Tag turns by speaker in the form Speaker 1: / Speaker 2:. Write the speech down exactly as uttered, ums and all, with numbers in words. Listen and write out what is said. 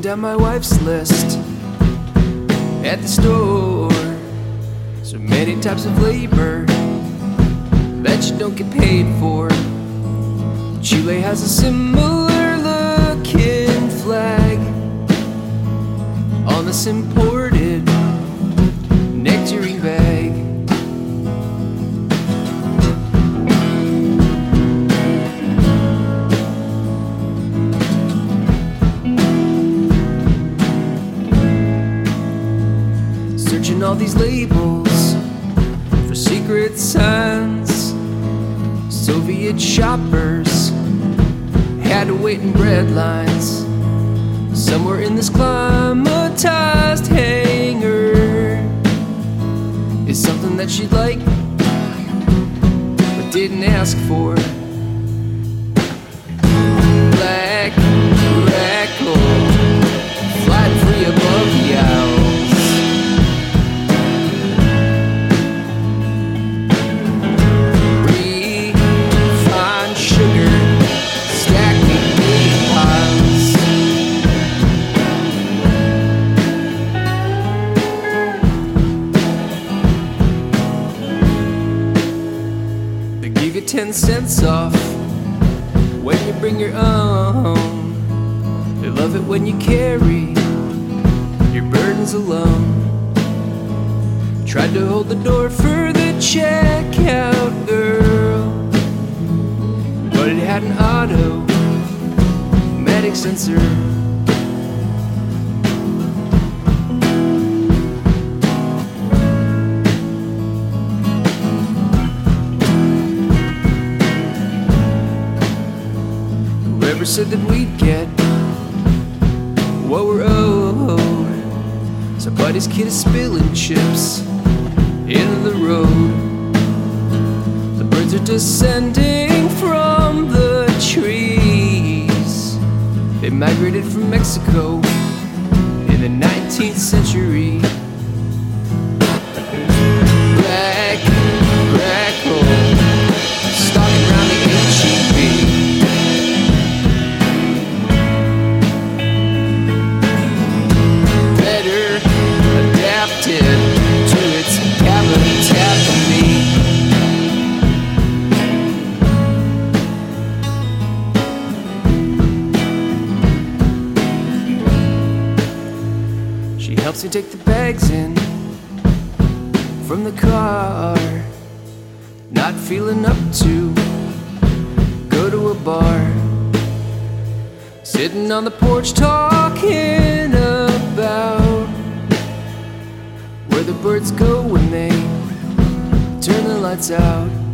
Speaker 1: down my wife's list at the store. So many types of labor that you don't get paid for. Chile has a similar looking flag on this imported nectarine bag. Searching all these labels for secret signs. Soviet shoppers had to wait in bread lines. Somewhere in this climatized hangar is something that she'd like but didn't ask for. Black crackle, flying free above the owls. Refined sugar, stacking big piles. They give you ten cents off when you bring your own. They love it when you carry your burdens alone. Tried to hold the door for the checkout girl, but it had an automatic sensor. Whoever said that we'd get what we're owed. Somebody's kid is spilling chips into the road. The birds are descending from the trees. They migrated from Mexico in the nineteenth century. Black crackle, stalking around the H E B. Adapted to its habitat for me. She helps me take the bags in from the car. Not feeling up to go to a bar. Sitting on the porch talking about where the birds go when they turn the lights out.